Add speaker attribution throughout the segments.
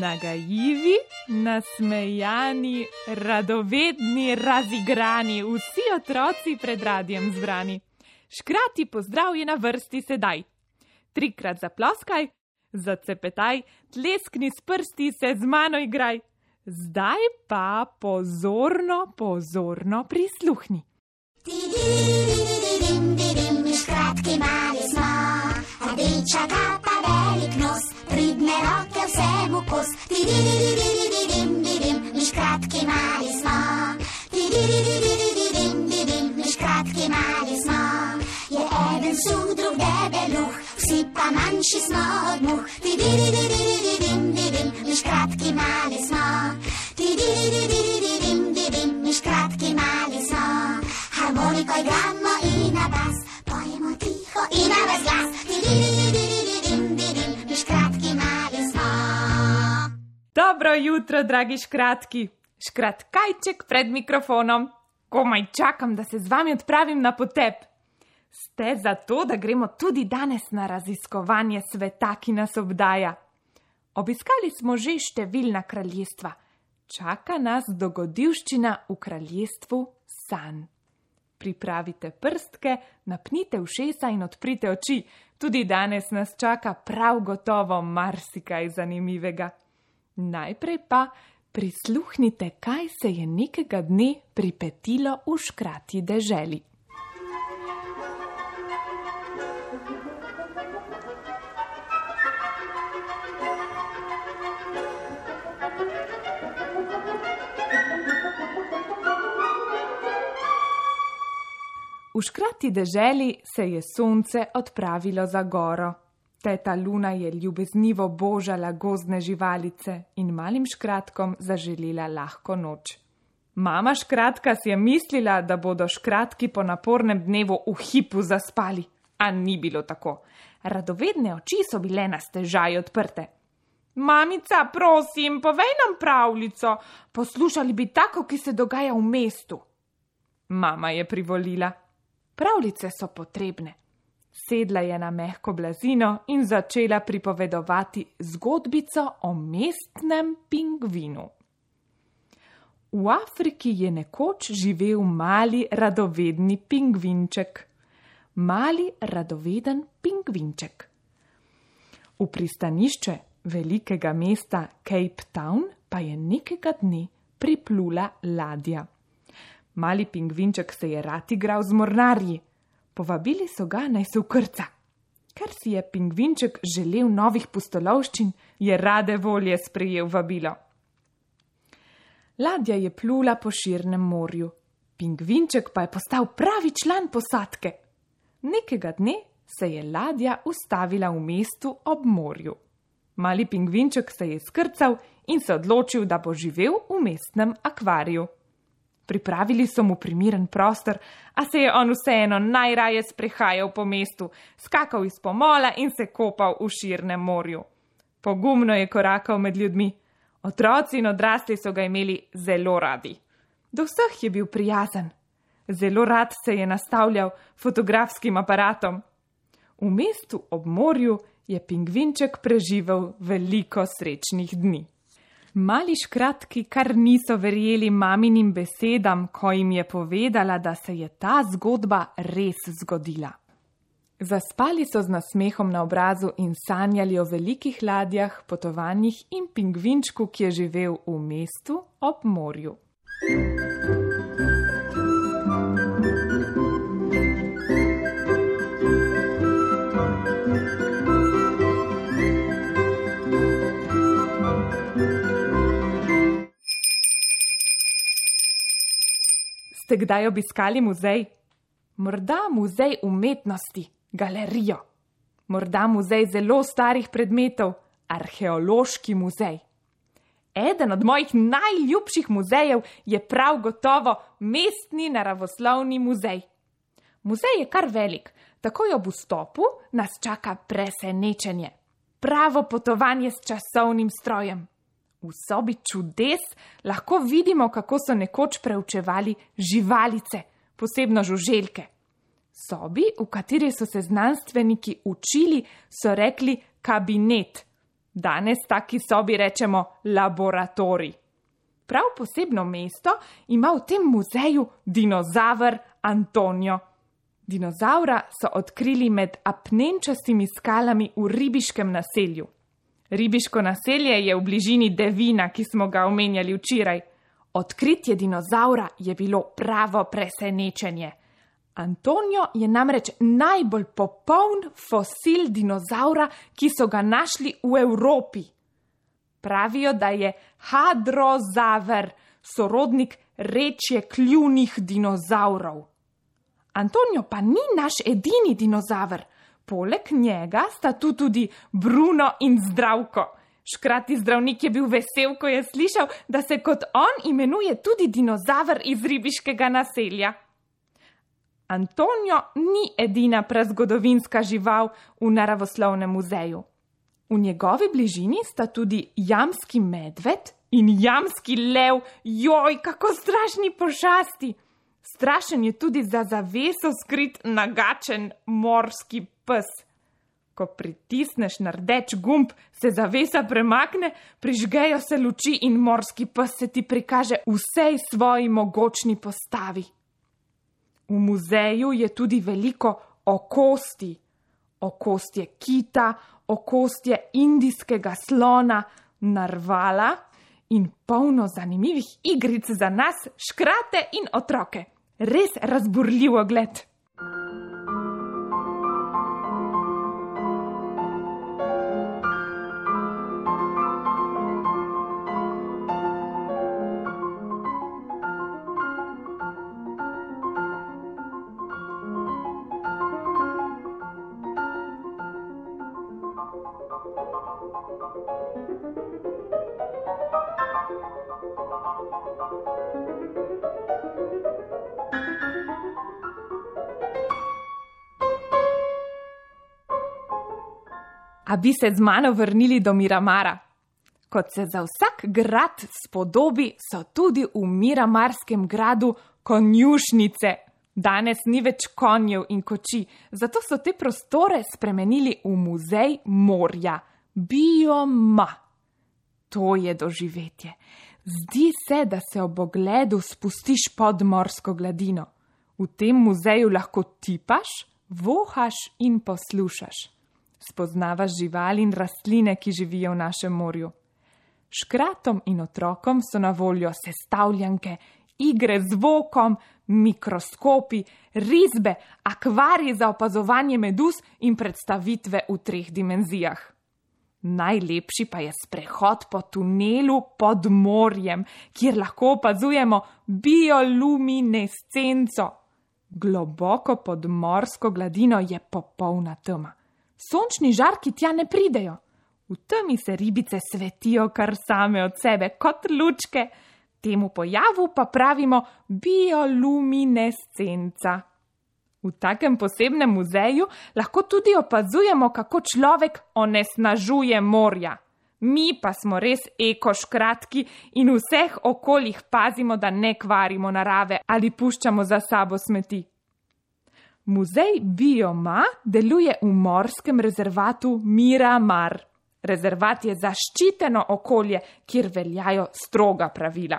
Speaker 1: Nagajivi, nasmejani, radovedni, razigrani, vsi otroci pred radijem zbrani. Škrati pozdrav je na vrsti sedaj. 3-krat zaploskaj, zacepetaj, tleskni s prsti, se z mano igraj. Zdaj pa pozorno, pozorno prisluhni.
Speaker 2: Škratki mali smo, rdeča kapa, velik nos, pridne roke vsemu kos. Mi škratki mali smo, mi škratki mali smo. Je eden suh, drug debeluh, vsi pa manjši smo od muh. Mi škratki mali smo, mi škratki mali smo. Harmoniko igramo in na bas, pojemo tiho in na ves glas. Mi škratki mali smo.
Speaker 1: Dobro jutro, dragi škratki. Škratkajček pred mikrofonom. Komaj čakam, da se z vami odpravim na potep. Ste za to, da gremo tudi danes na raziskovanje sveta, ki nas obdaja. Obiskali smo že številna kraljestva. Čaka nas dogodivščina v kraljestvu sanj. Pripravite prstke, napnite ušesa in odprite oči. Tudi danes nas čaka prav gotovo marsikaj zanimivega. Najprej pa prisluhnite, kaj se je nekega dne pripetilo v škratji deželi. V škratji deželi se je sonce odpravilo za goro. Teta Luna je ljubeznivo božala gozdne živalice in malim škratkom zaželela lahko noč. Mama škratka si je mislila, da bodo škratki po napornem dnevu v hipu zaspali, a ni bilo tako. Radovedne oči so bile na stežaj odprte. Mamica, prosim, povej nam pravljico, poslušali bi tako, ki se dogaja v mestu. Mama je privolila. Pravljice so potrebne. Sedla je na mehko blazino in začela pripovedovati zgodbico o mestnem pingvinu. V Afriki je nekoč živel mali radovedni pingvinček. Mali radoveden pingvinček. V pristanišče velikega mesta Cape Town pa je nekega dne priplula ladja. Mali pingvinček se je rad igral z mornarji. Povabili so ga, naj se vkrca. Ker si je pingvinček želel novih pustolovščin, je rade volje sprejel vabilo. Ladja je plula po širnem morju. Pingvinček pa je postal pravi član posadke. Nekega dne se je ladja ustavila v mestu ob morju. Mali pingvinček se je skrcal in se odločil, da bo živel v mestnem akvariju. Pripravili so mu primeren prostor, a se je on vseeno najraje sprehajal po mestu, skakal iz pomola in se kopal v širnem morju. Pogumno je korakal med ljudmi. Otroci in odrasli so ga imeli zelo radi. Do vseh je bil prijazen. Zelo rad se je nastavljal fotografskim aparatom. V mestu ob morju je pingvinček preživel veliko srečnih dni. Mali škratki kar niso verjeli maminim besedam, ko jim je povedala, da se je ta zgodba res zgodila. Zaspali so z nasmehom na obrazu in sanjali o velikih ladjah, potovanjih in pingvinčku, ki je živel v mestu ob morju. Ste kdaj obiskali muzej? Morda muzej umetnosti, galerijo. Morda muzej zelo starih predmetov, arheološki muzej. Eden od mojih najljubših muzejev je prav gotovo Mestni naravoslovni muzej. Muzej je kar velik, takoj ob vstopu nas čaka presenečenje. Pravo potovanje s časovnim strojem. V sobi čudes lahko vidimo, kako so nekoč preučevali živalice, posebno žuželke. Sobi, v kateri so se znanstveniki učili, so rekli kabinet. Danes taki sobi rečemo laboratorij. Prav posebno mesto ima v tem muzeju dinozaver Antonio. Dinozavra so odkrili med apnenčastimi skalami v ribiškem naselju. Ribiško naselje je v bližini Devina, ki smo ga omenjali včeraj. Odkritje dinozavra je bilo pravo presenečenje. Antonio je namreč najbolj popoln fosil dinozavra, ki so ga našli v Evropi. Pravijo, da je hadrozaver, sorodnik rečjekljuvnih dinozavrov. Antonio pa ni naš edini dinozaver. Poleg njega sta tu tudi Bruno in Zdravko. Škrati zdravnik je bil vesel, ko je slišal, da se kot on imenuje tudi dinozaver iz ribiškega naselja. Antonio ni edina prazgodovinska žival v naravoslovnem muzeju. V njegovi bližini sta tudi jamski medved in jamski lev. Joj, kako strašni pošasti! Strašen je tudi za zaveso skrit nagačen morski pes. Ko pritisneš na rdeč gumb, se zavesa premakne, prižgejo se luči in morski pes se ti prikaže v vsej svoji mogočni postavi. V muzeju je tudi veliko okostij. Okostje kita, okostje indijskega slona, narvala in polno zanimivih igric za nas, škrate in otroke. Res razburljiv ogled. A bi se z mano vrnili do Miramara? Kot se za vsak grad spodobi, so tudi v Miramarskem gradu konjušnice. Danes ni več konjev in koči, zato so te prostore spremenili v muzej morja. Bioma. To je doživetje. Zdi se, da se ob ogledu spustiš pod morsko gladino. V tem muzeju lahko tipaš, vohaš in poslušaš. Spoznavaš živali in rastline, ki živijo v našem morju. Škratom in otrokom so na voljo sestavljanke, igre z vokom, mikroskopi, risbe, akvariji za opazovanje meduz in predstavitve v 3 dimenzijah. Najlepši pa je sprehod po tunelu pod morjem, kjer lahko opazujemo bioluminescenco. Globoko pod morsko gladino je popolna tema. Sončni žarki tja ne pridejo. V temi se ribice svetijo kar same od sebe, kot lučke. Temu pojavu pa pravimo bioluminescenca. V takem posebnem muzeju lahko tudi opazujemo, kako človek onesnažuje morja. Mi pa smo res ekoškratki in v vseh okoljih pazimo, da ne kvarimo narave ali puščamo za sabo smeti. Muzej Bioma deluje v morskem rezervatu Miramar. Rezervat je zaščiteno okolje, kjer veljajo stroga pravila.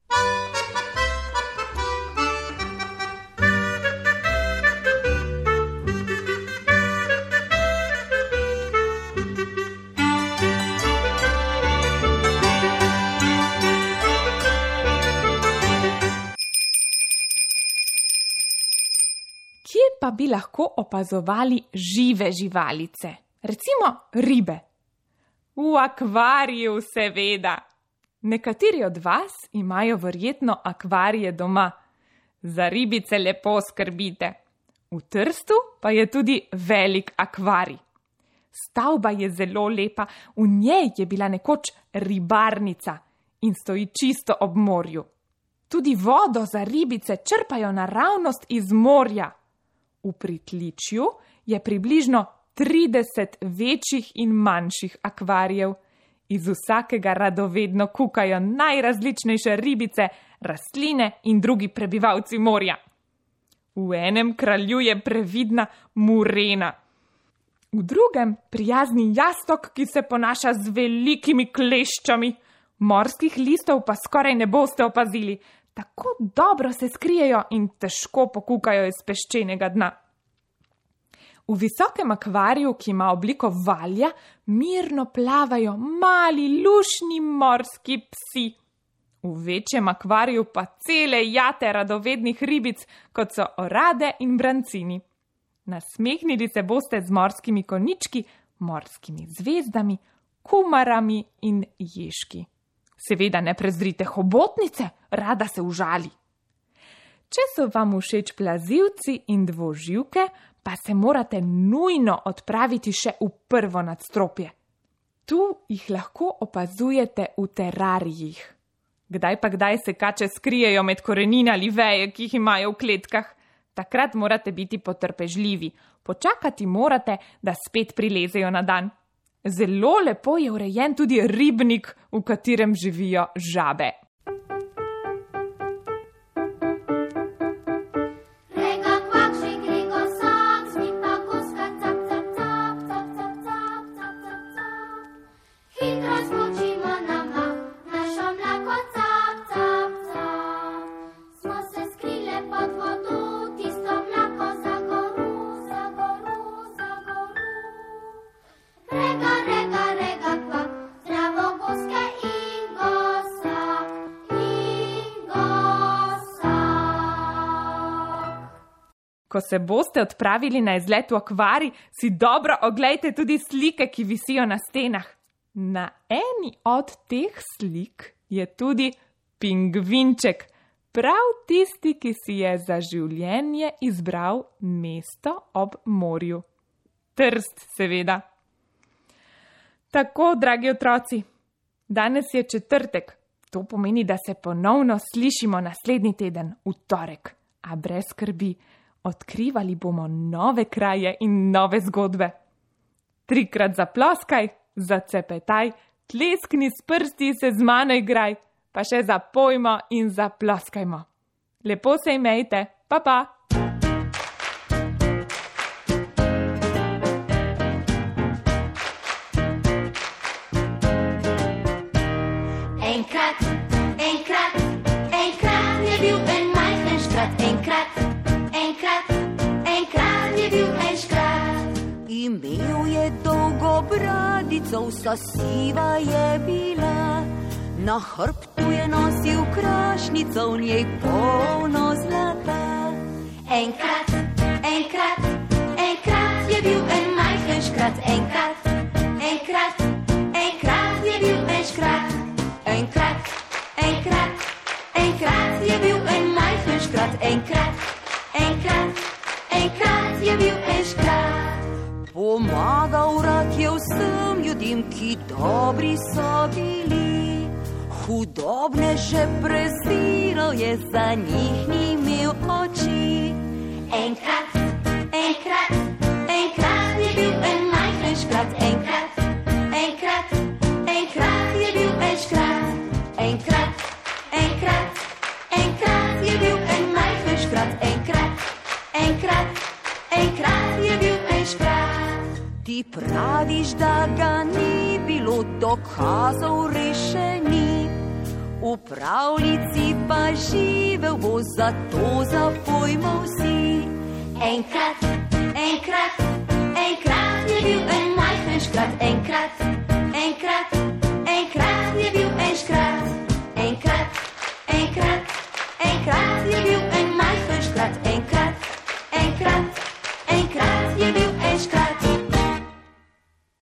Speaker 1: Kje pa bi lahko opazovali žive živalice? Recimo ribe. V akvariju, seveda. Nekateri od vas imajo verjetno akvarije doma. Za ribice lepo skrbite. V Trstu pa je tudi velik akvarij. Stavba je zelo lepa, v njej je bila nekoč ribarnica in stoji čisto ob morju. Tudi vodo za ribice črpajo naravnost iz morja. V pritličju je približno 30 večjih in manjših akvarijev. Iz vsakega radovedno kukajo najrazličnejše ribice, rastline in drugi prebivalci morja. V enem kraljuje previdna murena. V drugem prijazni jastok, ki se ponaša z velikimi kleščami. Morskih listov pa skoraj ne boste opazili. Tako dobro se skrijejo in težko pokukajo iz peščenega dna. V visokem akvariju, ki ima obliko valja, mirno plavajo mali lušni morski psi. V večjem akvariju pa cele jate radovednih ribic, kot so orade in brancini. Nasmehnili se boste z morskimi konjički, morskimi zvezdami, kumarami in ježki. Seveda ne prezrite hobotnice, rada se užali. Če so vam všeč plazilci in dvoživke, pa se morate nujno odpraviti še v prvo nadstropje. Tu jih lahko opazujete v terarijih. Kdaj pa kdaj se kače skrijejo med korenine ali veje, ki jih imajo v kletkah. Takrat morate biti potrpežljivi. Počakati morate, da spet prilezejo na dan. Zelo lepo je urejen tudi ribnik, v katerem živijo žabe. Ko se boste odpravili na izlet v akvarij, si dobro oglejte tudi slike, ki visijo na stenah. Na eni od teh slik je tudi pingvinček, prav tisti, ki si je za življenje izbral mesto ob morju. Trst, seveda. Tako, dragi otroci, danes je četrtek. To pomeni, da se ponovno slišimo naslednji teden, v torek. A brez skrbi. Odkrivali bomo nove kraje in nove zgodbe. 3-krat zaploskaj, zacepetaj, tleskni s prsti, se z mano igraj, pa še zapojmo in zaploskajmo. Lepo se imejte, pa pa!
Speaker 2: Enkrat je bil en majhen škrat, enkrat je bil en škrat.
Speaker 3: Imel je dolgo bradico, vsa siva je bila. Na hrbtu je nosil krašnico, v njej polno zlata.
Speaker 2: Enkrat je bil en majhen škrat, enkrat je bil en škrat. Enkrat je bil en majhen škrat, enkrat je bil en škrat.
Speaker 3: Pomagal rad je vsem ljudem, ki dobri so bili. Hudobne že preziral je, za njih ni imel oči.
Speaker 2: Enkrat je bil en majhen škrat, enkrat je bil en škrat. Enkrat je bil en majhen škrat, enkrat je bil en škrat.
Speaker 3: Ti praviš, da ga ni bilo, dokazov rešeni. V pravljici pa živel bo, zato zapojmo vsi.
Speaker 2: Enkrat